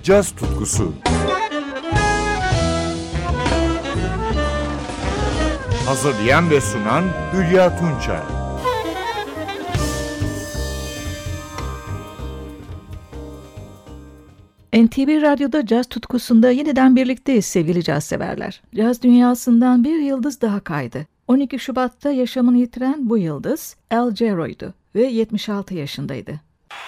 caz tutkusu. Hazırlayan ve sunan Hülya Tunçay. NTV Radyo'da caz tutkusunda yeniden birlikteyiz sevgili caz severler. Caz dünyasından bir yıldız daha kaydı. 12 Şubat'ta yaşamını yitiren bu yıldız Al Jarreau'ydu ve 76 yaşındaydı.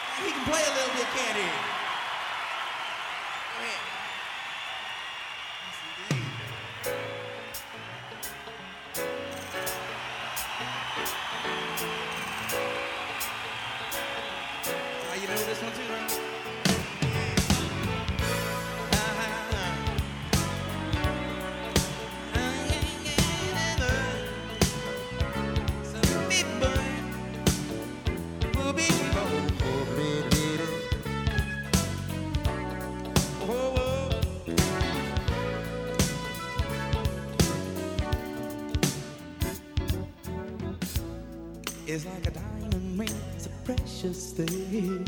It's like a diamond ring, it's a precious thing,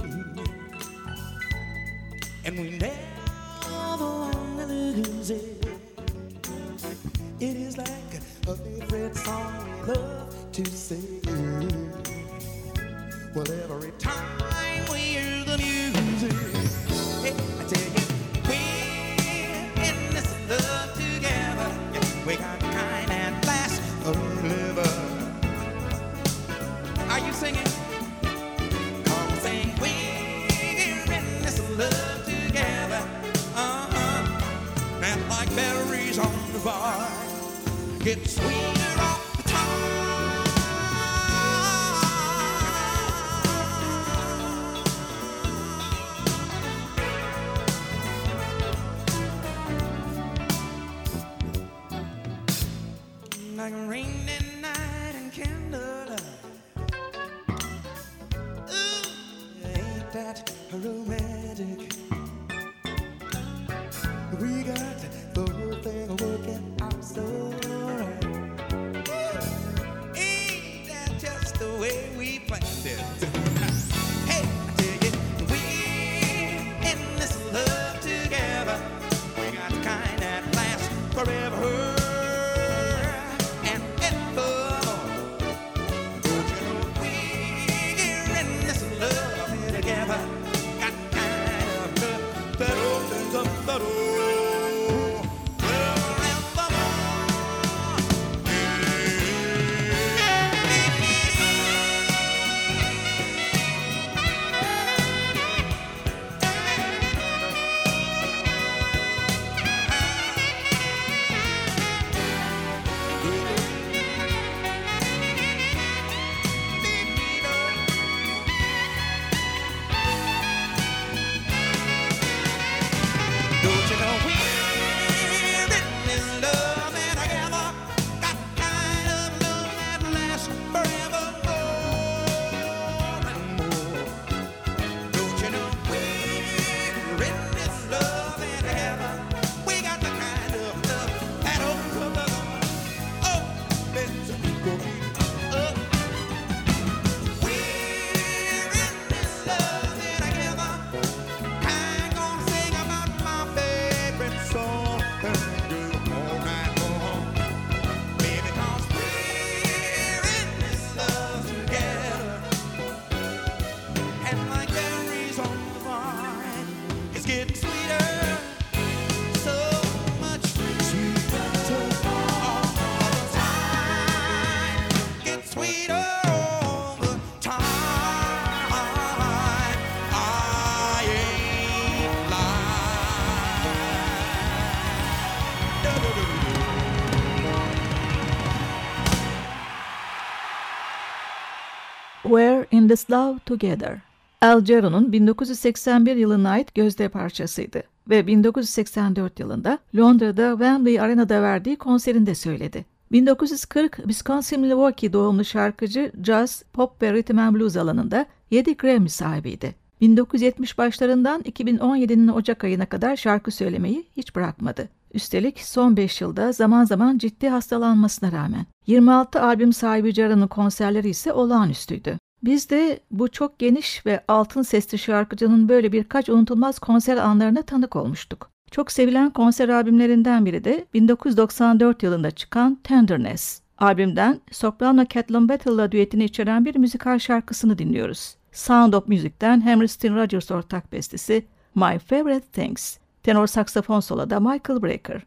and we never want to lose it. It is like a favorite song we love to sing. Well, every time we hear the music, hey, I tell you, we're in this love together. Yeah, we got the kind that lasts forever. Are you singing? Come sing, we're in this love together. And like berries on the vine, get sweeter off the tongue. Like a rainy night and candlelight. That romantic. We got the whole thing working out so right. Ain't that just the way we planned it? Hey, I tell you, we're in this love together. We got the kind that lasts forever. And evermore. Don't you know we're in this love together. Got kind of love that opens up the door forevermore. Don't you know we're in this love together? Got kind of love that lasts forevermore and more. Don't you know we're in this love together? We got the kind of love that opens up. Oh, let's go. Oh, we're in this love together. I'm gonna sing about my favorite song all night long. Baby, 'cause we're in this love together. And like berries on the vine, it's getting sweeter, so much sweeter all the time. Gets sweeter all the time. I ain't lying. We're in this love together. Al Jarreau'nun 1981 yılına ait gözde parçasıydı ve 1984 yılında Londra'da Wembley Arena'da verdiği konserinde söyledi. 1940 Wisconsin-Milwaukee doğumlu şarkıcı jazz, pop ve rhythm and blues alanında 7 Grammy sahibiydi. 1970 başlarından 2017'nin Ocak ayına kadar şarkı söylemeyi hiç bırakmadı. Üstelik son 5 yılda zaman zaman ciddi hastalanmasına rağmen. 26 albüm sahibi Jarreau'nun konserleri ise olağanüstüydü. Biz de bu çok geniş ve altın sesli şarkıcının böyle birkaç unutulmaz konser anlarına tanık olmuştuk. Çok sevilen konser albümlerinden biri de 1994 yılında çıkan Tenderness. Albümden soprano Catelyn Battle'la düetini içeren bir müzikal şarkısını dinliyoruz. Sound of Music'ten Hammerstein Rogers ortak bestesi My Favorite Things. Tenor saksafon soloda Michael Brecker.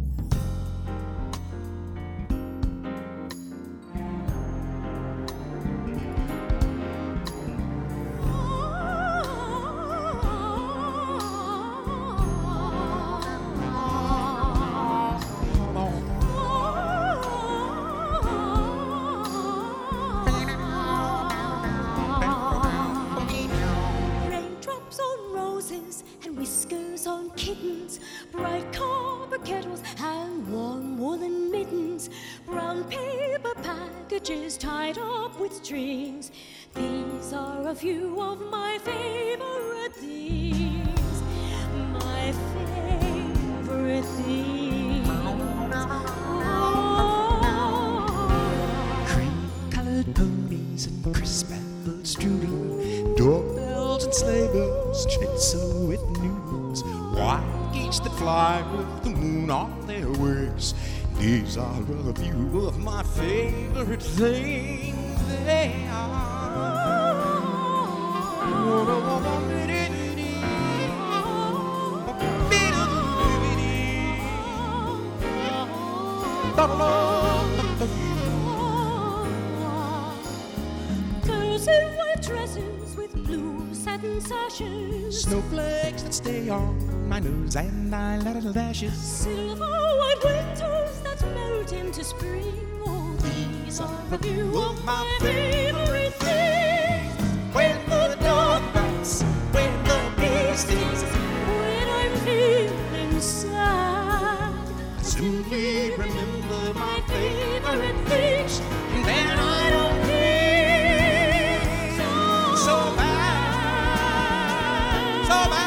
Whiskers on kittens, bright copper kettles and warm woolen mittens, brown paper packages tied up with strings. These are a few of my favorite things, my favorite things. Cream-colored ponies and crisp apple strudel, doorbells and sleigh bells, schnitzel with noodles, white geese that fly with the moon on their wings. These are a few of my favorite things. They are. Girls in white dresses with blue satin sashes, Snowflakes that stay on my nose and eyelashes. silver white winters that melt into spring. Oh, these are a few of my favorite things. When the dog bites, when the bee stings, When I'm feeling sad, I simply remember my favorite things, and then I don't feel so bad, so bad.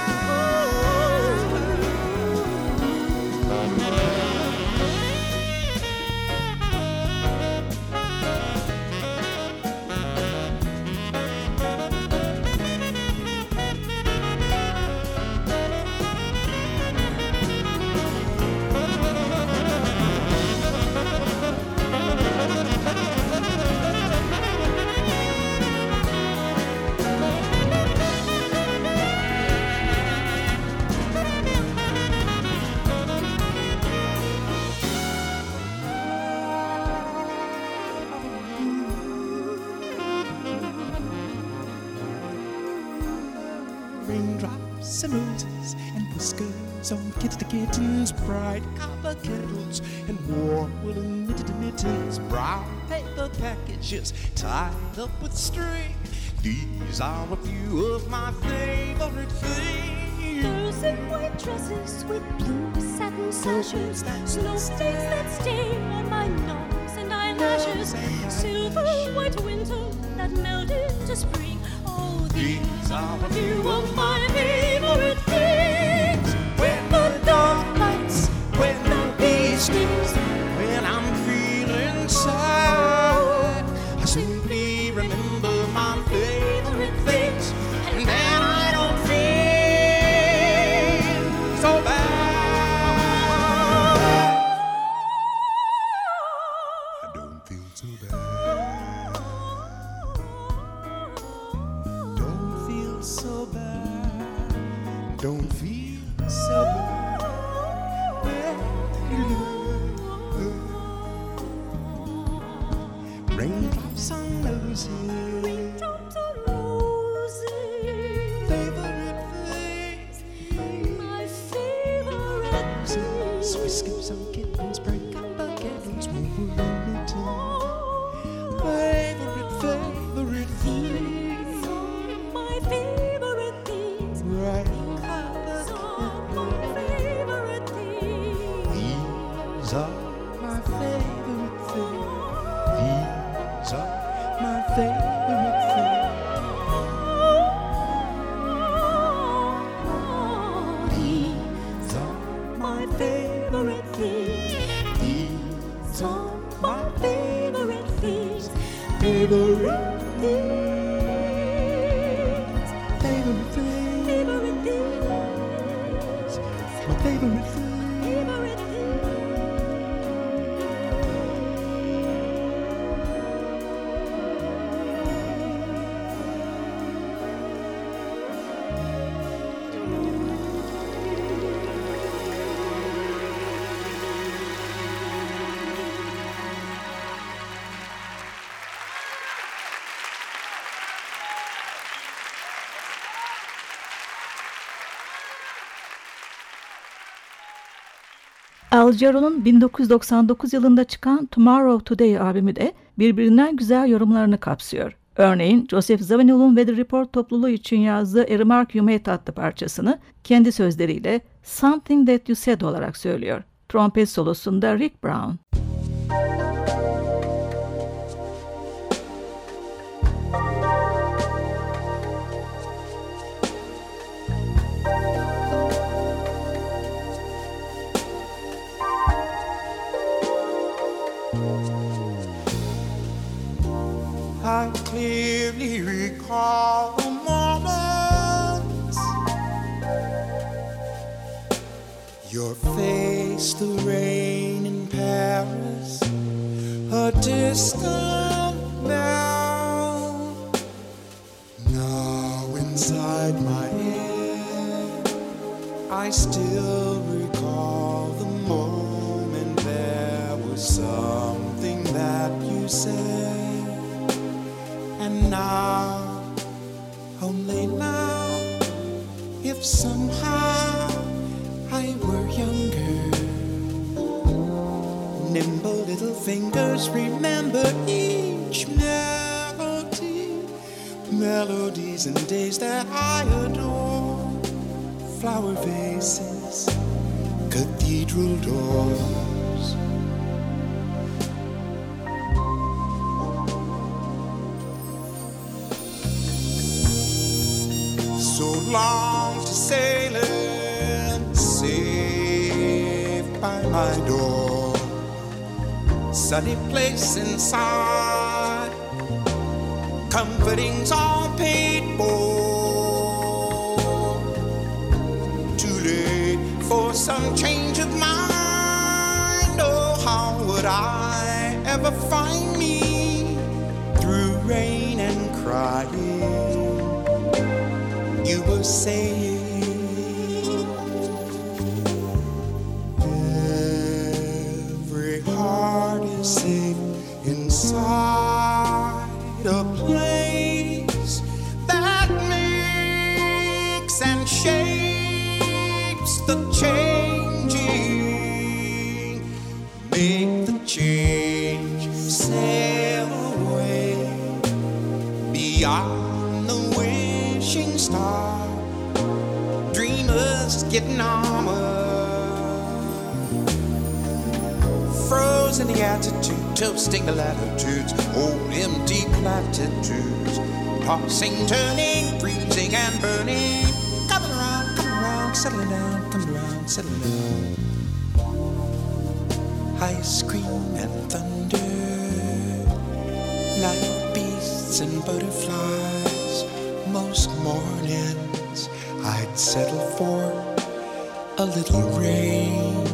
Raindrops and roses and whiskers on kittens, bright copper kettles and warm woolen knitted mittens, brown paper packages tied up with string. These are a few of my favorite things. girls in white dresses with blue satin sashes, snowflakes that stay on my nose and eyelashes, silver white winter that melt into spring. Oh, these are a few of my favorite things. When the dog bites, when the bee stings, when I'm feeling sad, I simply remember my favorite things, and then I don't feel so bad. I don't feel so bad. Don't feel so bad. Don't feel so bad. Raindrops on roses. Raindrops on roses, Favorite things. my favorite things. Whiskers on kittens, bright copper kettles, warm woolen mittens. Favorite things. My favorite things. Bright These copper are my favorite things. These are my favorite things. These are my favorite Al Jarreau'nun 1999 yılında çıkan Tomorrow Today albümü de birbirinden güzel yorumlarını kapsıyor. Örneğin Joseph Zawinul'un Weather Report topluluğu için yazdığı A Remark You Made adlı parçasını kendi sözleriyle Something That You Said olarak söylüyor. Trompet solosunda Rick Brown. I clearly recall the moments, your face, the rain in Paris, a distant bell. Now inside my head, I still recall the moment. There was something that you said. And now, only now, if somehow I were younger, nimble little fingers remember each melody, melodies and days that I adore, flower vases, cathedral doors. So long to sailing, safe by my door. Sunny place inside, comforting's all paid for. Too late for some change of mind. Oh, how would I ever find me through rain and crying? You were saying every heart is safe inside a place that makes and shapes the changing. Make the change, sail away beyond the wishing star. Dreamers getting armor, frozen the attitude, toasting the latitudes, old empty platitudes, tossing, turning, freezing and burning, coming around, settling down, coming around, settling down. Ice cream and thunder, night beasts and butterflies. Most mornings I'd settle for a little rain.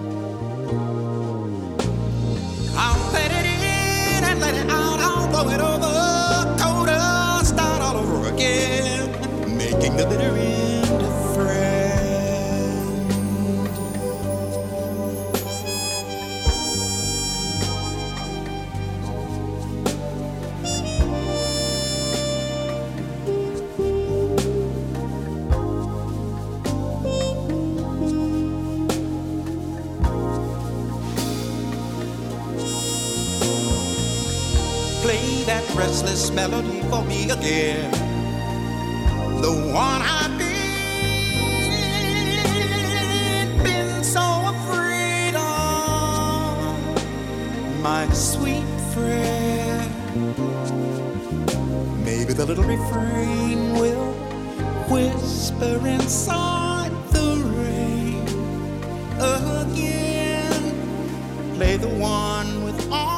I'll let it in and let it out, I'll blow it over, colder, start all over again, making the bitter end a friend. Play that restless melody for me again, the one I've been so afraid of, my sweet friend. Maybe the little refrain will whisper inside the rain again. Play the one with all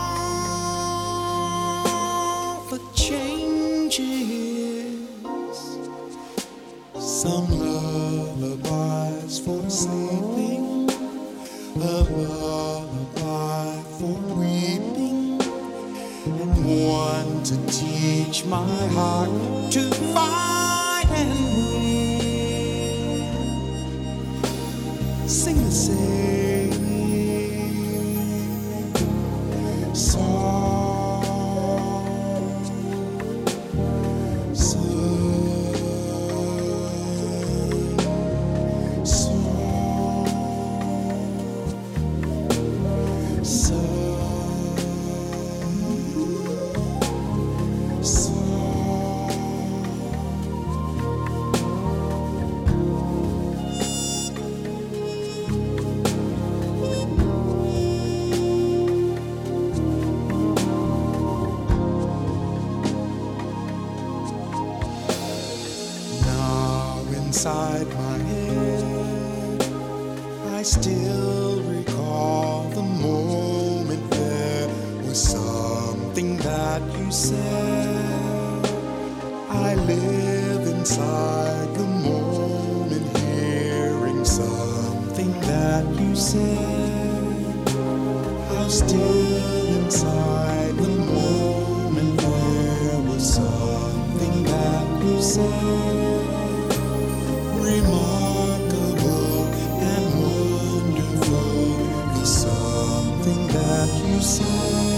changes, some lullabies for sleeping, a lullaby for weeping, and one to teach my heart to fight and win. Sing the same song. inside my head. I still recall the moment there was something that you said. I live inside the moment, hearing something that you said. I'm still inside the moment, there was something that you said. Remarkable and wonderful, the something that you said.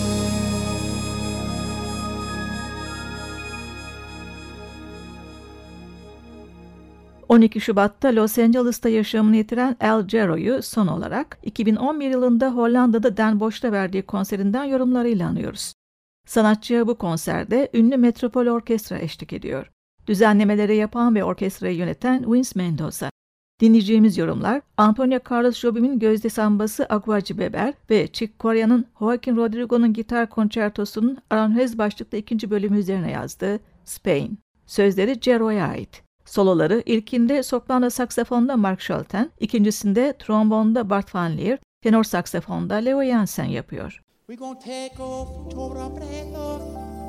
12 Şubat'ta Los Angeles'ta yaşamını yitiren Al Jarreau'yu son olarak 2011 yılında Hollanda'da Den Bosch'ta verdiği konserinden yorumlarıyla anıyoruz. Sanatçıya bu konserde ünlü Metropol Orkestra eşlik ediyor. Düzenlemeleri yapan ve orkestrayı yöneten Vince Mendoza. Dinleyeceğimiz yorumlar Antonio Carlos Jobim'in Gözde Sambası Aguaci Beber ve Chick Corea'nın Joaquin Rodrigo'nun gitar konçertosunun aranjöz başlıklı ikinci bölümü üzerine yazdığı Spain. Sözleri Jarreau'ya ait. Soloları ilkinde soprano saksafonda Mark Scholten, ikincisinde trombonda Bart Van Leer, tenor saksafonda Leo Jansen yapıyor. We're gonna take off Tora Preto,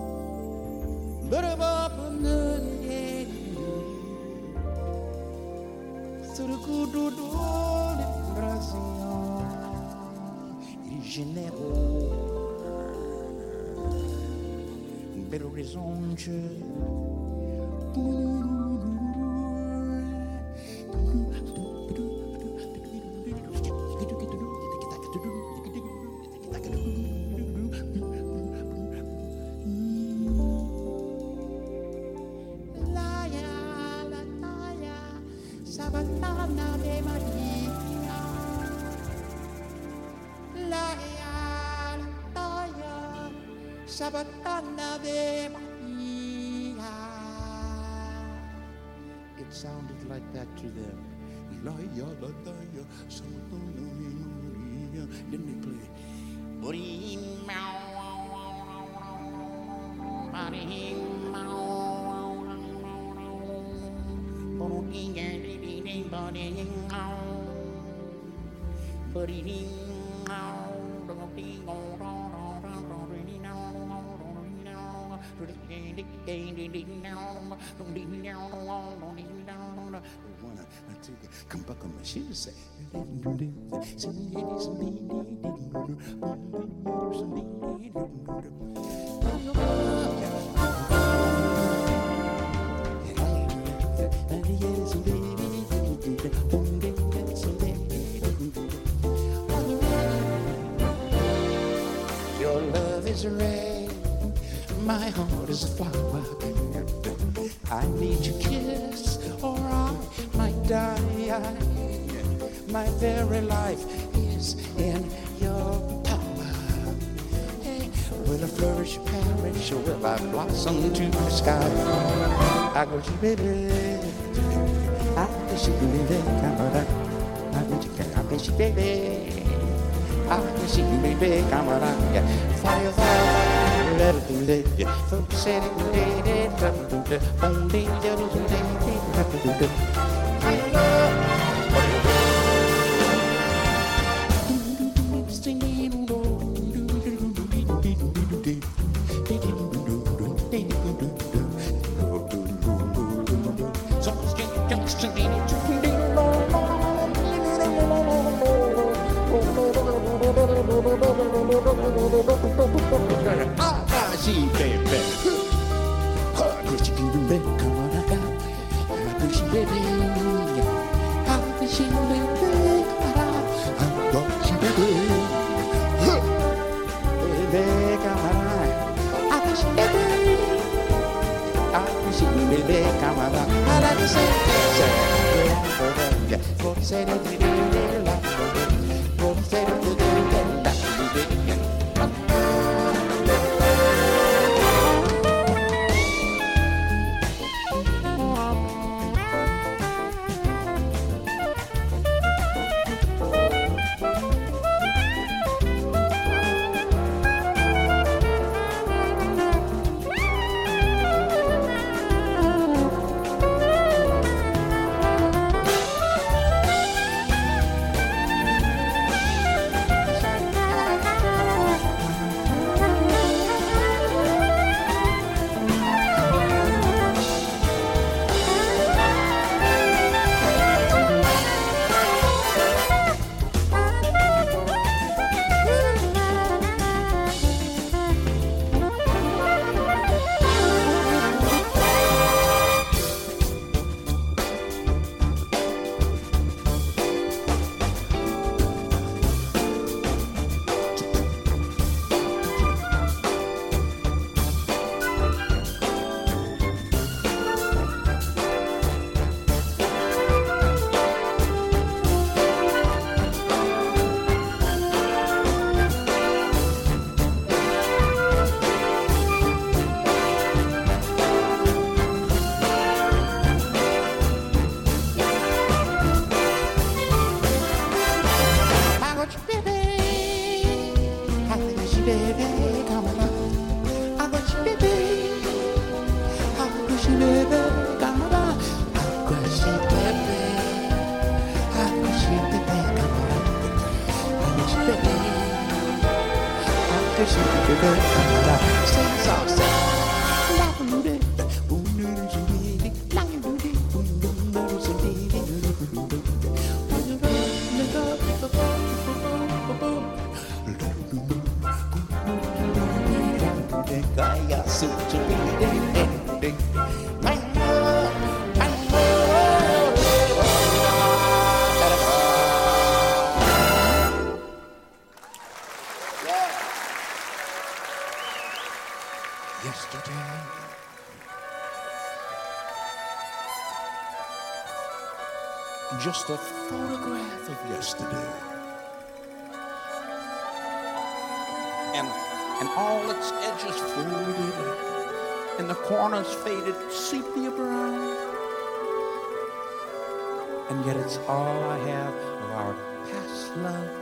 Burabapun, Surukudu, Brasil, Janeiro, Belo Horizonte. Sabatana de Maria, la toya, Sabatana de Maria. It sounded like that to them. La ya la da ya, Sabatana de Maria. Then they play. Boring come back on my shoes, say. Your love is red, my heart is a flower. I need your kiss, or I might die. My very life is in your power. Hey, will I flourish, perish, or will I blossom to the sky? I go to baby, I wish you baby, come on, I wish you baby, I wish you baby, come on, fire, fire, let it do it, folks say it, only I love. Yesterday, just a photograph of yesterday, and all its edges folded, and the corners faded sepia brown, and yet it's all I have of our past love.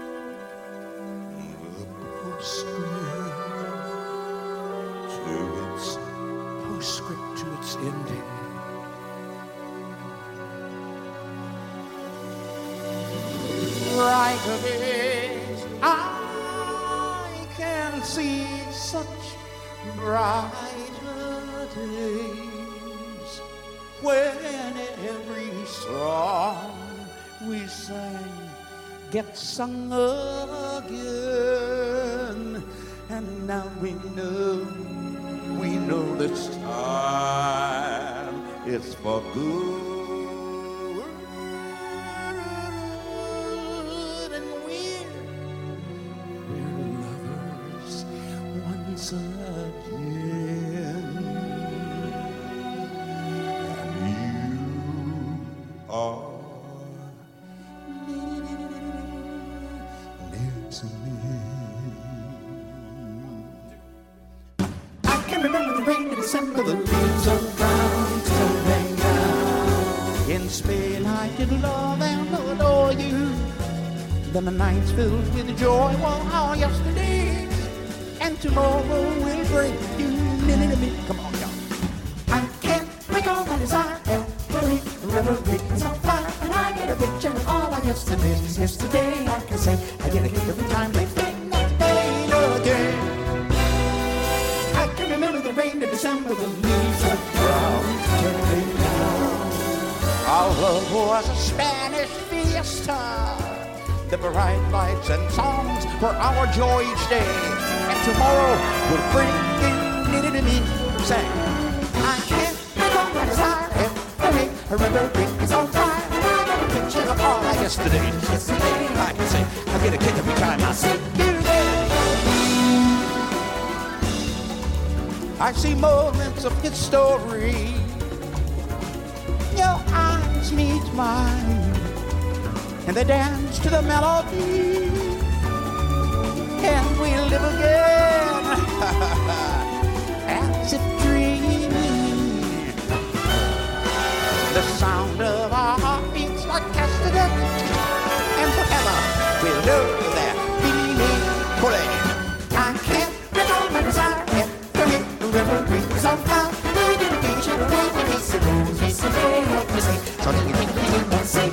Postscript to its ending. Right of it, I can see such brighter days when every song we sang gets sung again, and now we know this time it's for good, and we're lovers once again, and you are near to me. Remember the rain in December, the leaves are brown, tumbling down. In Spain I did love and adore you. Then the nights filled with joy were our yesterdays, and tomorrow will bring you near to me. Come on, y'all. I can't recall my desire every reverie is on fire, and I get a picture of all our yesterdays. Yesterday I can say I get a kick every time they bring that day again. Remember the rain in December, the leaves are brown, turning down. Our love was a Spanish fiesta. The bright lights and songs were our joy each day, and tomorrow will bring you near to me. Say, I can't recall my desire every remembering is on fire. I got a picture of all our yesterdays. Yesterday I can say I get a kick every time I see you there. I see moments of history. Your eyes meet mine, and they dance to the melody, and we live again as if dreaming. The sound of our heartbeats like castanets, and forever we'll know that feeling fully. I can't recall my desire. Reverie is on fire. We did a picture of every yesterday, like we say. So let me think you can say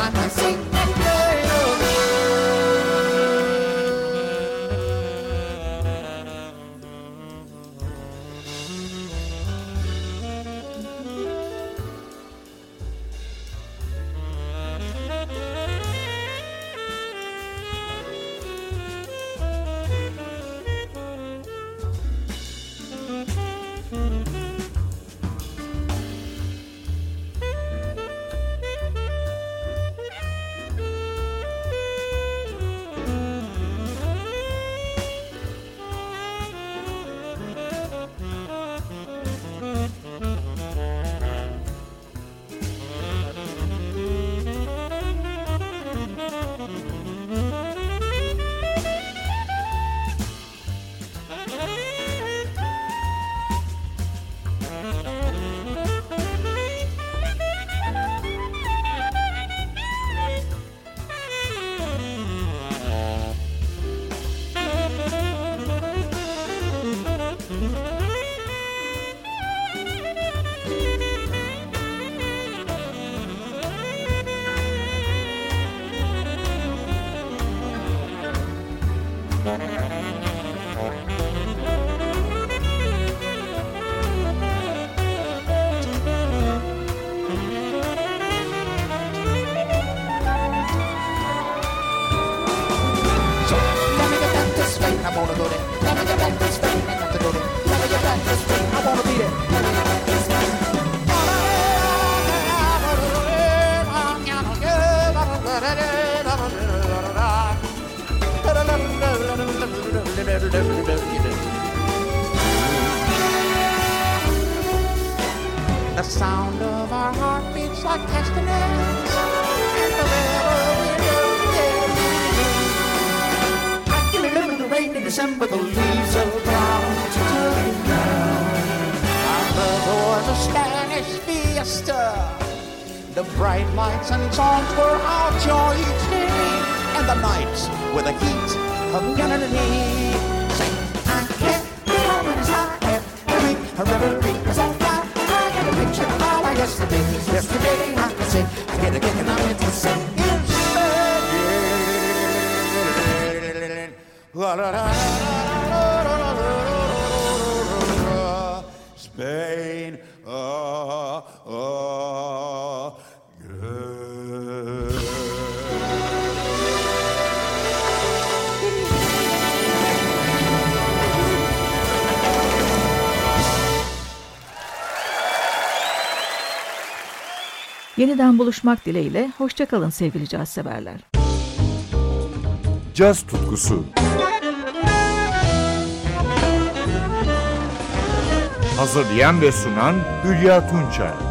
I can sing and play The sound of our heartbeats like castanets, and wherever we go, yeah. I give a little rain in December, the leaves are brown to turn brown. And there was a Spanish fiesta. The bright lights and songs were our joy each day, and the nights with the heat of unity. Say, I can't be home as I am. A reverie is on fire. I get a picture of all my yesterdays. Yesterday I can say, I get a kick and I'm into the same. Spain, Yeniden buluşmak dileğiyle hoşça kalın sevgili caz severler. Caz tutkusu. Hazırlayan ve sunan Hülya Tunçay.